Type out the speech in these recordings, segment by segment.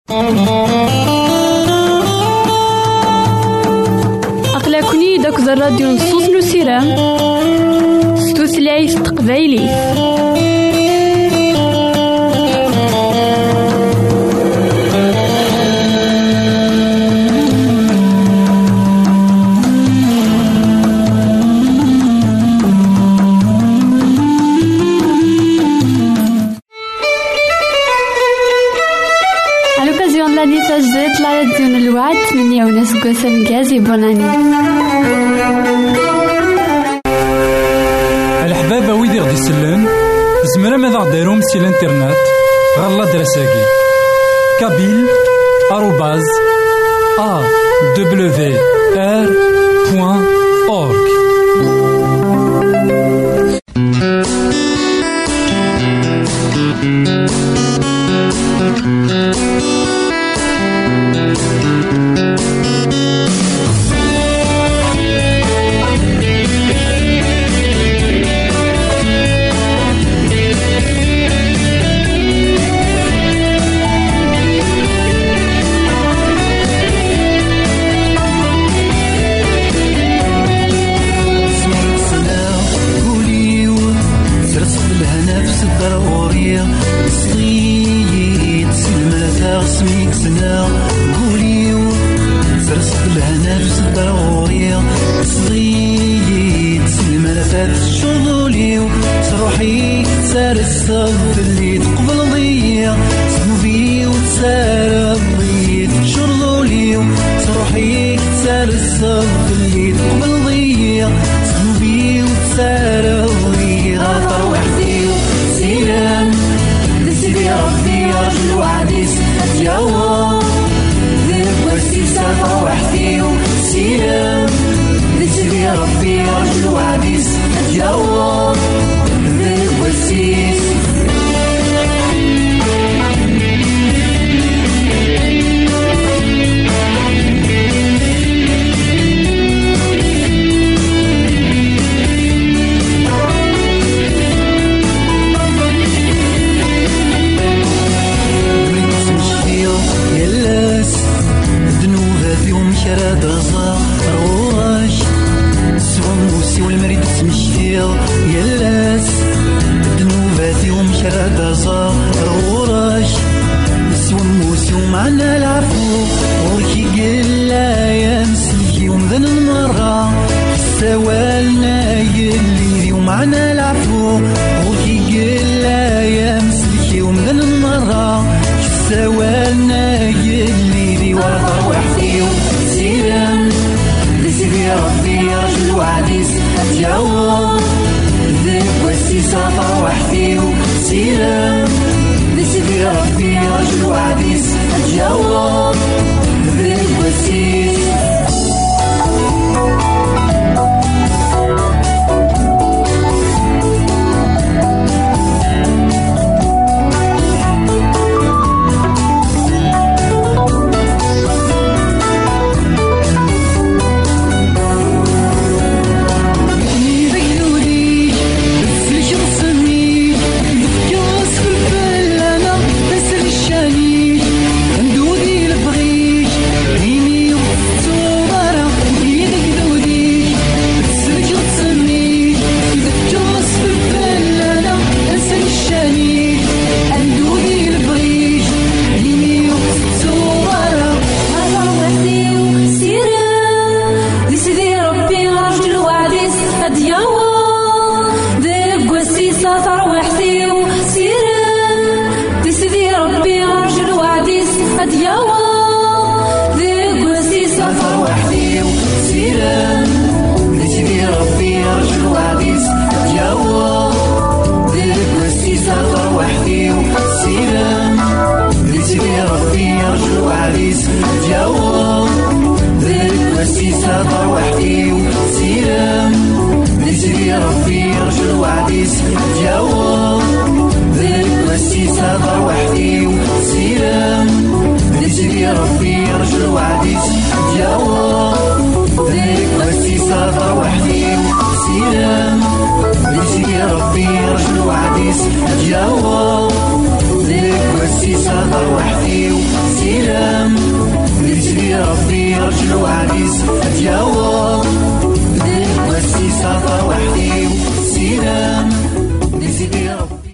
أقلكني داك الراديو نصوص نسيرام ستوثلايف تقبايلي. تجديد لا راديون الوعد 8 سنكازي بوناني. الحبابة ويدي غدي يسلم زمرا ماذا غديرهم سي الانترنت غالا دراساكي كابيل @awr.org. سيدي رجل عريس أدياوه وسي سافر وحدي سيرام نسيدي ربي.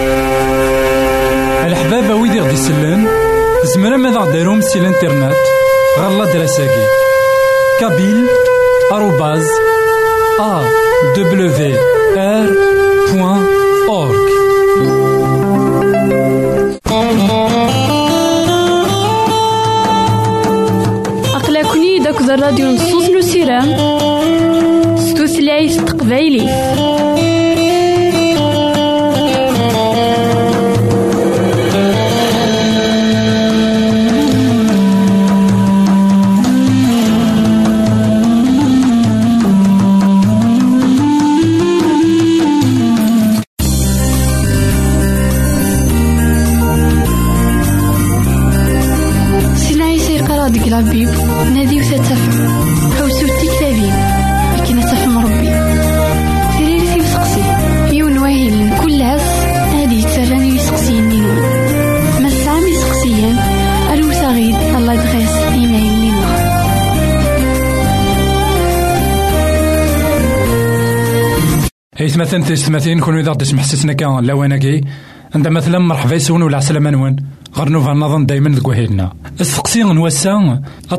الحبابة ويدي غدي سلان زمرا ماذا غديرهم سي الانترنت غالا دراساكي كابيل @awr.org. أقلكني داك الراديو نصوص نسيرام ستوثلايف تقبايلي. ديك لابيب نادي وتتفهم حوسو التكتابين لكن تفهم ربي سيريري في مسقسي يون واهل كل عاس هادي تسراني يسقسيين نينون ما السعام يسقسيين الوساغيد الله دغيس إيمايل لنا. هيث مثلا تستمثين كون إذا تسمح سسنا كان لواناكي عند مثلا مرحبا يسون ولا عسلامة نوان غرنوفا نظن دايما ذكوهيلنا السقسي نوسا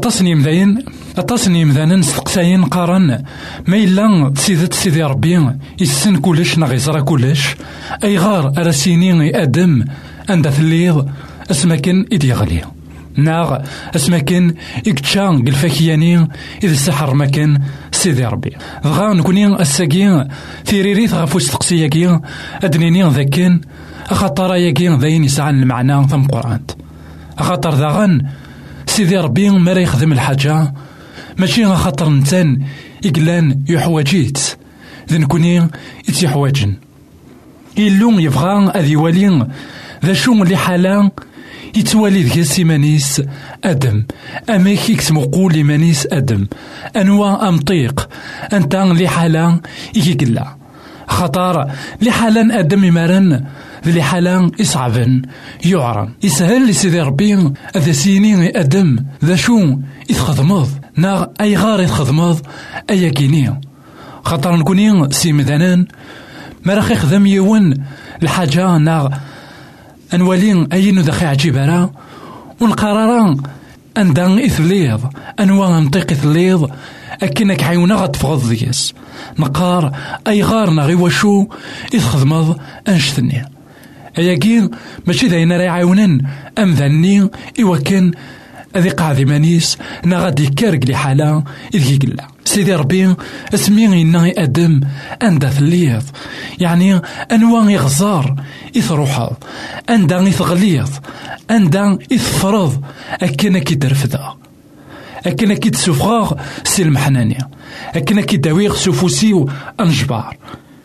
أتصني مذانا نستقساين قارن ما إلا سيدي ربي يسن كلش نغيزرا كلش أي غار أرسيني أدم عند ثليض اسمكن إدي غلي ناغ اسمكن إكتشان قلفاكياني إذا السحر مكان سيدي ربي غا نكوني الساقين ثيريريث غفو استقسياكي أدنيني ذاكين أخطر ياكين ذاين يسعن المعنى ثم قرآن أخطر ذاغن سيدي ربي ما راه يخدم الحاجة ماشي خاطر نتان إقلان يحواجيت ذا نكوني يتيحواجن إلو يبغى أذي والين ذا شو اللي حالا يتوالي ذكي سيمانيس أدم أميك يكسمو قولي مانيس أدم أنواع أمطيق أنت اللي حالا يقلا خطر لحالا أدم يمارن ذي حالا يصعبن يعرن يسهل لسيدي ربي أذا سيني أدم ذا شو يتخدمض نا أي غار يتخدمض أي كيني خطر نكوني سيمدانان ما راح يخدم يون الحاجة نا أنوالين أين دخي عجيبارا ونقرارا أندان إثليض أنواع منطق إثليض أكنك حيونا غتفغض ديس نقار أي غار نغي وشو يتخدمض أنشتني أياكين ماشي داينا راي عيونان أم ذني إوا كان أذي قاعدي مانيس نغادي كارك لي حالا إذي قلا سيدي ربي اسمي إنا أدم أندا ثليض يعني أنواع يغزار يثروحض أندا يثغليض أندا يثفرض أكنا كي درفدا أكنا كي تسوفغاغ سي المحنانية أكنا كي داويغ سوفوسيو أنجبار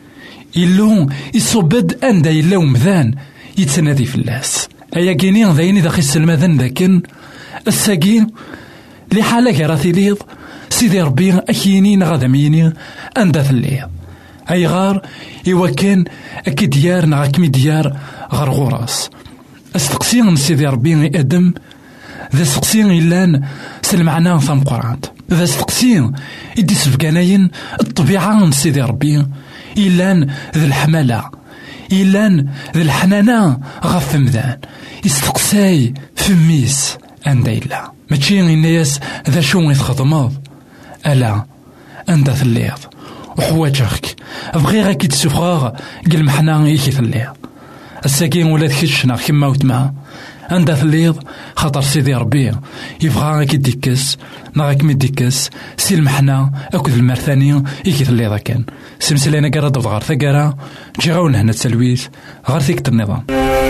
إلو يصبد أندا إلا ومذان يتسنادي في اللاس أيا كيني ذايني داخل السلمذان ذاكن الساقين لي حالة كراثي ليض سيدي ربي أكيني نغادميني أندا ثليض أي غار إوا كان أكي ديار نغاكمي ديار غرغوراس استقسين سيدي ربي أدم ذا استقسين إلان سلمعنا ثم قرآن ذا استقسين إدي سفقاناين الطبيعة سيدي ربي إلان ذا الحمالة إلان ذا الحنانة غف مذان يستقساي فميس أندا إلا ماشي الناس ذا شو يتخدمض ألا أندا ثليض وحواجك بغيغا كي تسفغاغ قل محنا يكي ثليض الساكين ولاد كشنا كما وتما أندا ثليض خاطر سيدي ربي يبغى كي ديكس نغاك مي ديكس سي المحنا أكد المرثاني يكي ثليض كان سمسلينا قرا دوض غار ثقارا جي غاون هنا التلويث غار ثيكت النظام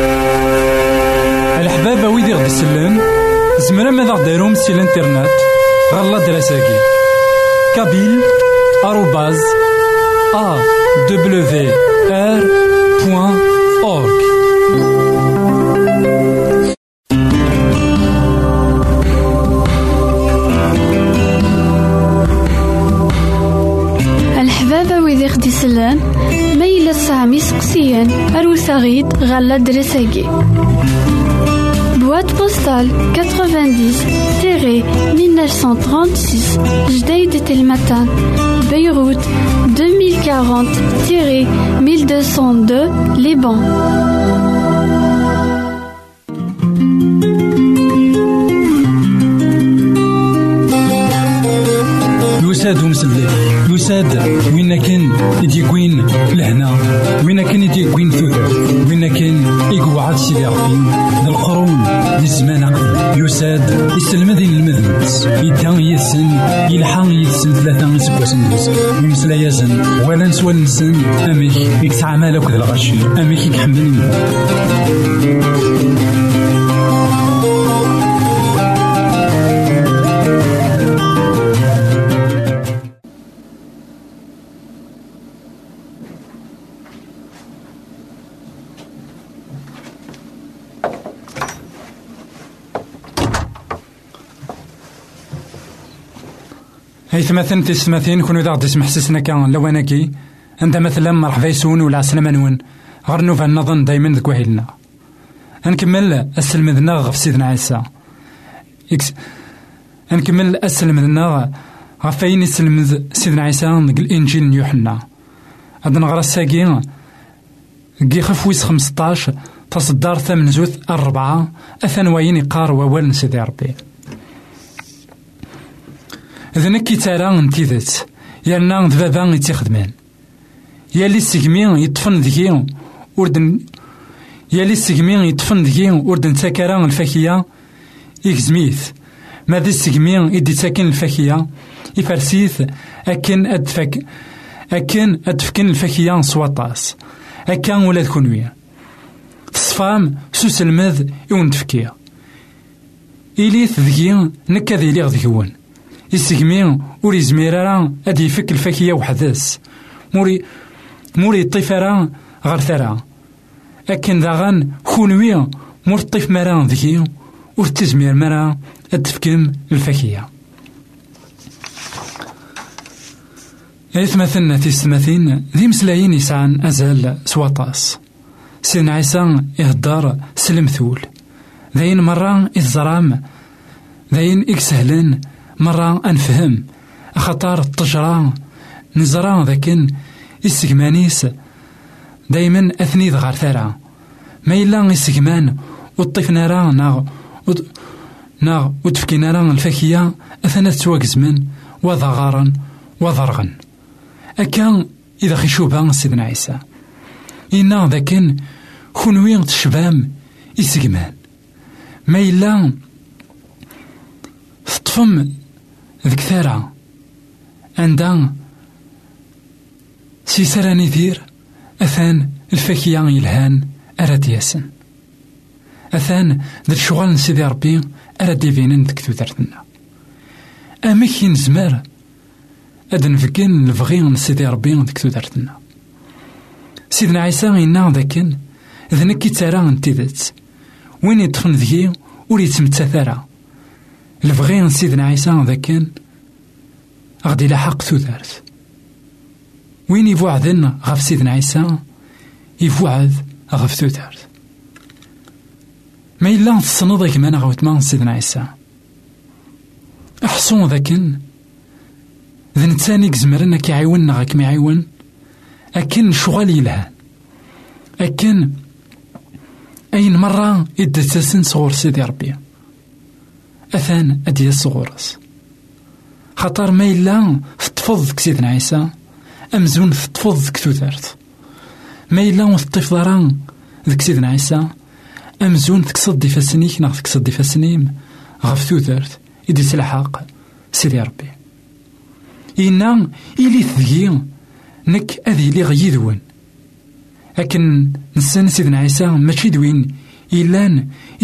الحبابة ويدي غدي سلان زمرا ماذا غديرهم سي الانترنت غالا دراساكي كابيل @awr.org. الحبابة ويدي غدي سلان ميلا سامي سقسيان أروساغيد غالا دراساكي Boîte postale 90-1936 Jdeïd Telmatan, Beyrouth 2040-1202 Liban. يساد ومسلي يساد وين كان يديكوين لهنا وين كان يديكوين ثوثر وين كان يقعد سيدي ربي القرون للزمان أقدم يساد يسلم ذي المذنبس يدان يسن يلحق يسن ثلاثة سبوسن يمسلا يزن ولا نسوى النسن أميك يكسع مالك ذا الغشي أميك يحملني هاي ثمثن تسمثين كونو ذا تسمح سسنا كان لواناكي عند مثلا مرحبا يسون ولا سلام نون غير نوفا نظن دايما ذك وهيلنا نكمل السلم ذنا في سيدنا عيسى نكمل السلم ذنا غفاين السلم سيدنا عيسى الانجيل يوحنا عندنا غرا الساقين كي خفويس 15 تصدر 8 زوث 4 أثنوين يقار ووال سيدي ربي إذا نكي ترى نتيذت يالنا ذبابا يتخدمان يالي السجمين يطفن ذكي وردن يالي السجمين يطفن ذكي وردن تاكرا الفاكية يكزميث ماذا السجمين يدي تاكن الفاكية يفرسيث أكن أدفكن الفاكية سواطاس أكن ولا تكونوية تصفام سوس المذ يون تفكير إليث ذكي نكا ذي ليغ ذكيون يسجمين وري زميرا أدي يفك الفاكية وحدث موري الطفرة غير ثرى لكن ذاغن كونوية مور الطيف مرا ذكي ورتزمير مرا أدفكم الفاكية مثلنا تيستمثين ذي مسلايين يسعان أزال سواطاس سيدنا عيسى يهدار سلمثول ذاين مرة إذزرام ذاين إكسهلن مرة أنفهم خطار الطجرة نزرا ذاكن السجمانيس دايما أثني ذغار ثرى ما إلا السجمان والطيف نارا ناغ وتفكي نارا الفاكية أثنى تواكزمن وضغارا وضرغا أكان إذا خشوبا سيدنا عيسى إنا ذاكن كونوين تشبام السجمان ما إلا تطفم ذيك ثرى عندها سيسراني ذير أثان الفاكية يلهان أراد ياسن أثان ذا الشغل سيدي ربي أراد يبينن ديك ثوثرتنا أميك ينزمر أدن فكين الفغين سيدي ربي ديك ثوثرتنا سيدنا عيسى إنا ذاكن إذا نكي ترى انتذت وين يطفن ذكي ولي يتمتثرى الفغين سيدنا عيسى ذاكن غادي لحق ثوثرت وين يفوعدن غف سيدنا عيسى يفوعد غف ثوثرت ما إلا تصنض كمان غوتمان سيدنا عيسى أحصون ذاكن ذا نتساني كزمرنا كيعيون غاك ما يعيون أكن شغال يلهان أكن أين مرة إدتسن صغور سيدي ربي أثان أدي الصغورس خطر ما إلا تطفض سيدنا عيسى أمزون تطفض كثوثرت ما إلا تطيف ضران ذك سيدنا عيسى أمزون تكسد فاسنيك ناغ تكسد فاسنيم غف ثوثرت إدي سلحاق سيدي ربي إنا إلي ثقي نك أذي لي غيذون لكن نسان سيدنا عيسى ماشي دوين إلان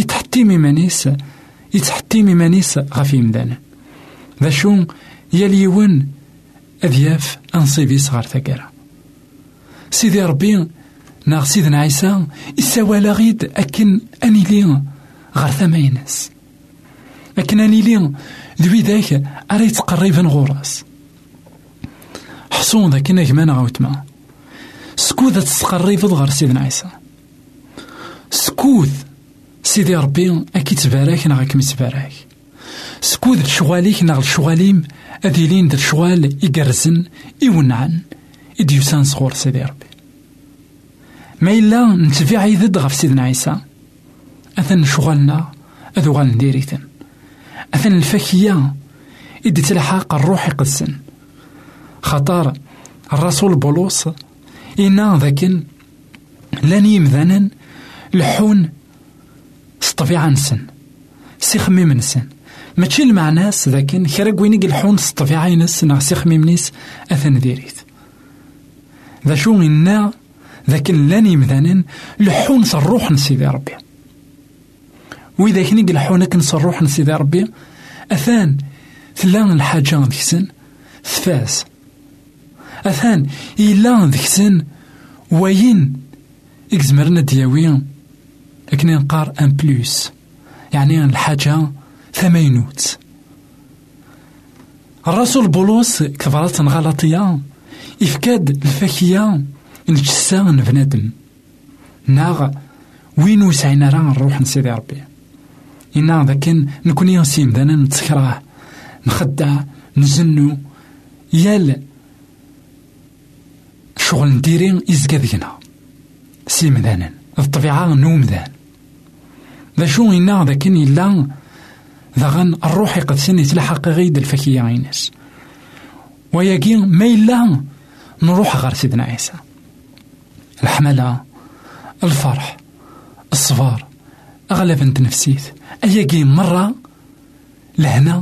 يتحتي ميمانيس غفي مدانا ذا شو يليون أذياف أنصيبي صغار ثقارة سيدي ربي ناغ سيدنا عيسى إساوالا غيد أكن أني لي غار ثماينس لكن أني لي ذوي ذاك أري تقريبا غوراس حصون ذاك نجمان غوتما سكوذ تسقريفض غار سيدنا عيسى سكوذ سيدي ربي أكي تبارك نغاك متبارك سكود شغاليك نغل شغاليم أذيلين در شغال يقرزن يونعن إديوسان صغور سيدي ربي ما إلا نتبع عيدد غف سيدنا عيسى أثن شغالنا أذوغال نديريتن أثن الفكية إدي تلحق الروح يقدسن خطار الرسول بولس إنا ذاكن لن يمذنن لحون سطفيعة نسن سيخميم نسن ماشي المعناس ذاكن خيرك وينيق الحون سطفيعة نسن سيخميم نيس أثن ديريت ذا شو إنا ذاكن لن يمذنن لحون صروح نسيدي ربي وإذا كنيق الحونك نصروح نسيدي ربي أثان ثلان الحاجة ذكسن ثفاس أثان إلا ذكسن وين إكزمرنا دياوين لكن نقار أن بلوس يعني الحاجة ثمينوت الرسول بولس كفرات غلطية إفكاد الفاكية نجسان بنادم ناغ وين وسعينا راه نروح نسيدي ربي إنا ذاكن نكون ينسيم دانا نتسكراه نخدع نزنو يال شغل نديرين إزكاذينا سيم ذانا الطبيعة نوم ذان ذا شو إنا ذاكن إلا ذاغن الروح يقدسن يتلحق غيد الفكية عينس وياكي ما إلا نروح غير سيدنا عيسى الحملة الفرح الصبر أغلب انت نفسيت أياكي مرة لهنا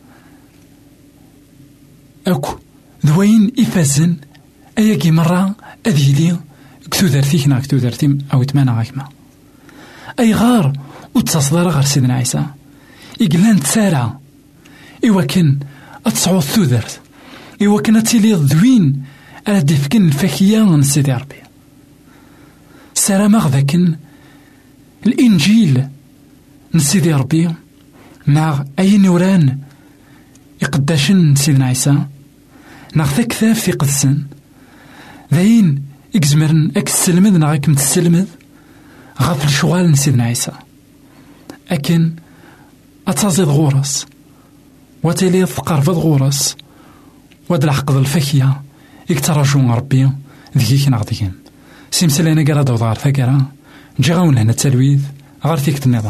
أكو ذوين إفازن أياكي مرة أذيلي كتو دارتيك نا كتو دارتي أو تمانا غاكما أي غار وتصدر غير سيدنا عيسى إقلان تسارع إواكن أتصعود ثودرت إواكن أتيلي ذوين ألا ديفكن الفاكية نسيدي ربي سارة مغذاكن الإنجيل نسيدي ربي مع أي نوران يقداشن سيدنا عيسى ناخذ كثاف في قدسن ذاين إكزمرن أكسلمد ناغاكم تسلمد غاف الشغال نسيدنا عيسى أكن أتازيد غورس وتلي تقرفض غورس ودلع قض الفكية يكتراجون ربي ذيك ناغديهم سيمسلينا قرا دوضار فكرا جاون هنا التلويذ غير فيك النظام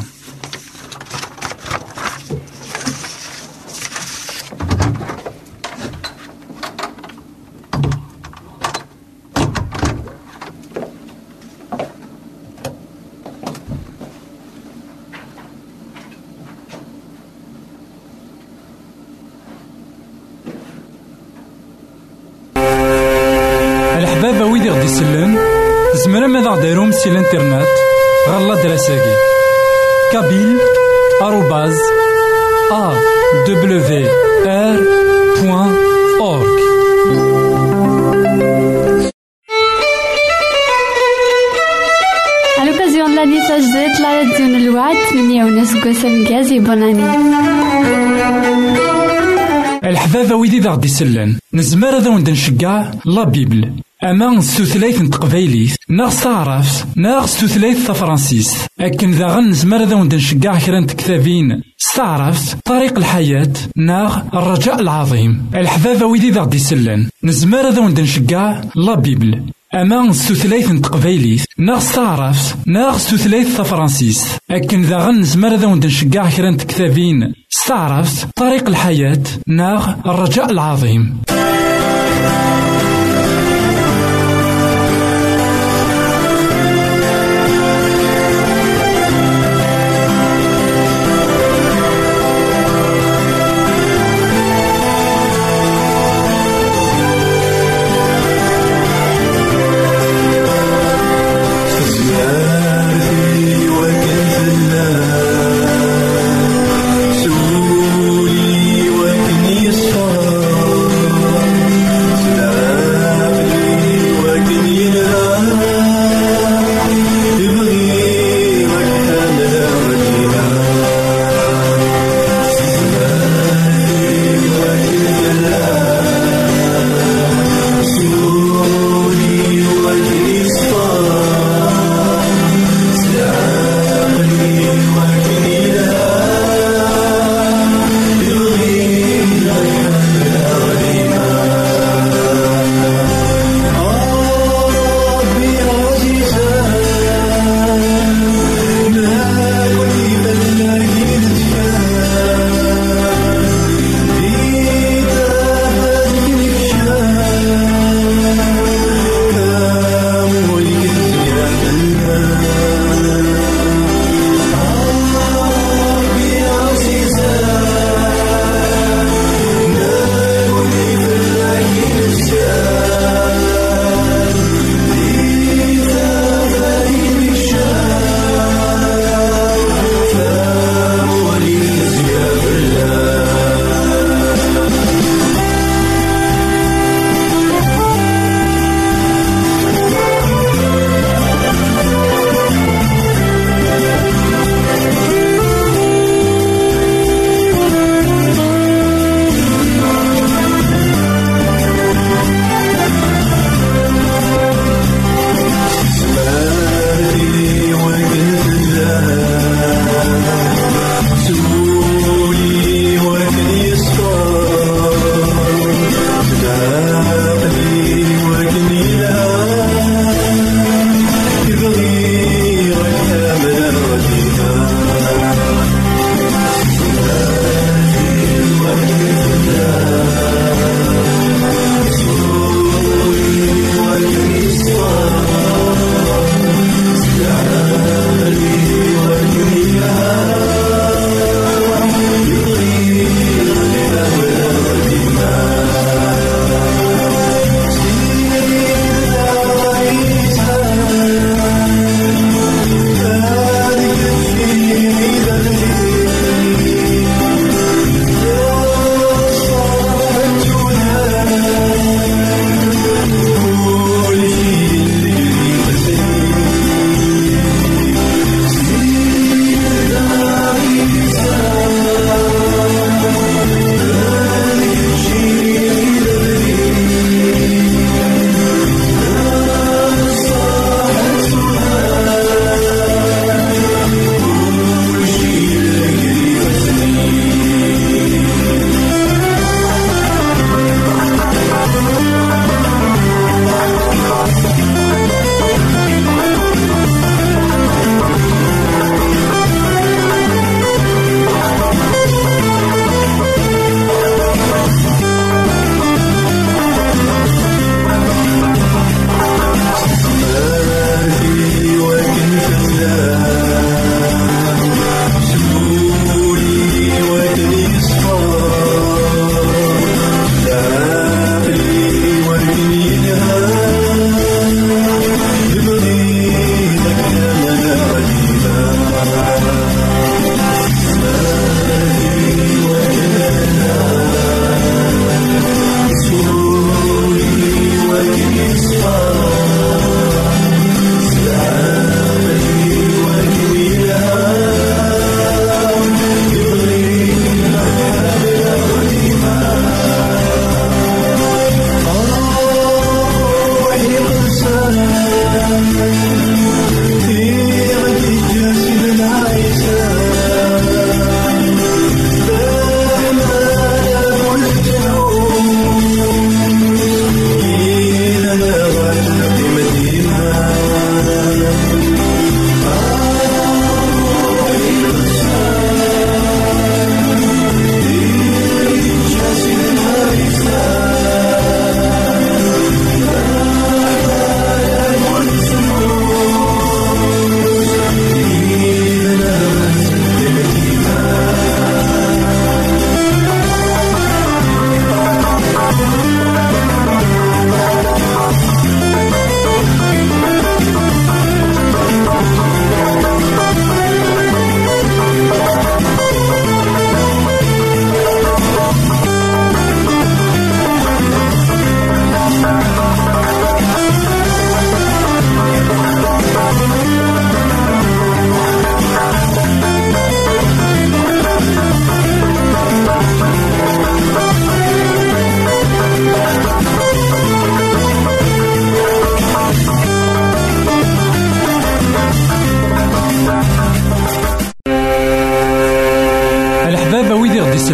الحبابة ويدي غدي يسلم زمرا ماذا غديرهم سي الانترنت غالا دراساكي كابيل @awr.org À l'occasion de l'année Sajdet, la radio de l'Ouad, Mignones Gossem Gazi, bonne année. الحبابة ويدي ذا غدي يسلم نزمر ذا وند نشجع لا بيبل أما ستثليث نتقبايليث ناغ ستعرف ناغ ستثليث تفرانسيس أكن ذا غنزمر ذا وند نشجع كران كتابين استعرفت طريق الحياة ناغ الرجاء العظيم الحبابة ويدي ذا غدي يسلم نزمر ذا وند نشجع لا بيبل أما ستثليث نتقبايليث ناغ ستعرف ناغ ستثليث تفرانسيس أكن ذا غنزمر ذا وند نشجع كران كتابين استعرفت طريق الحياة ناغ الرجاء العظيم سولي وكني صار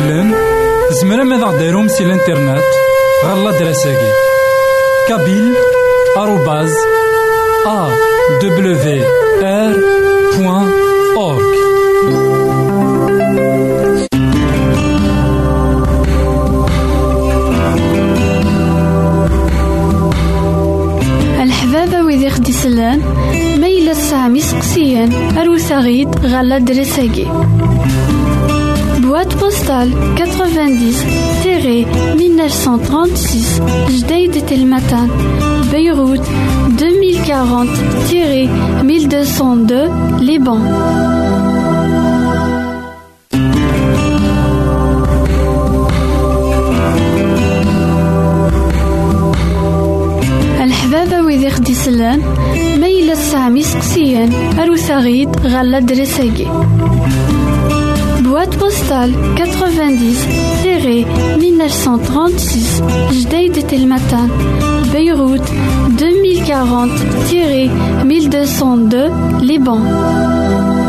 يسلم زمرا ماذا غديرهم سي الانترنت غالا دراساكي kabyle@awr.org. الحبابة ويدي خدي سلان ميلا الساعة سقسيان أروسا غيد غالا دراساكي boîte postale 90-1936 Jdeïd Telmatan Beyrouth 2040-1202 Liban. الحبابة ويدي خدي سلان ميلا الساعة سقسيان أروسا غيد غالا دراساكي boîte postale 90-1936 Jdeïd Telmatan Beyrouth 2040-1202 Liban.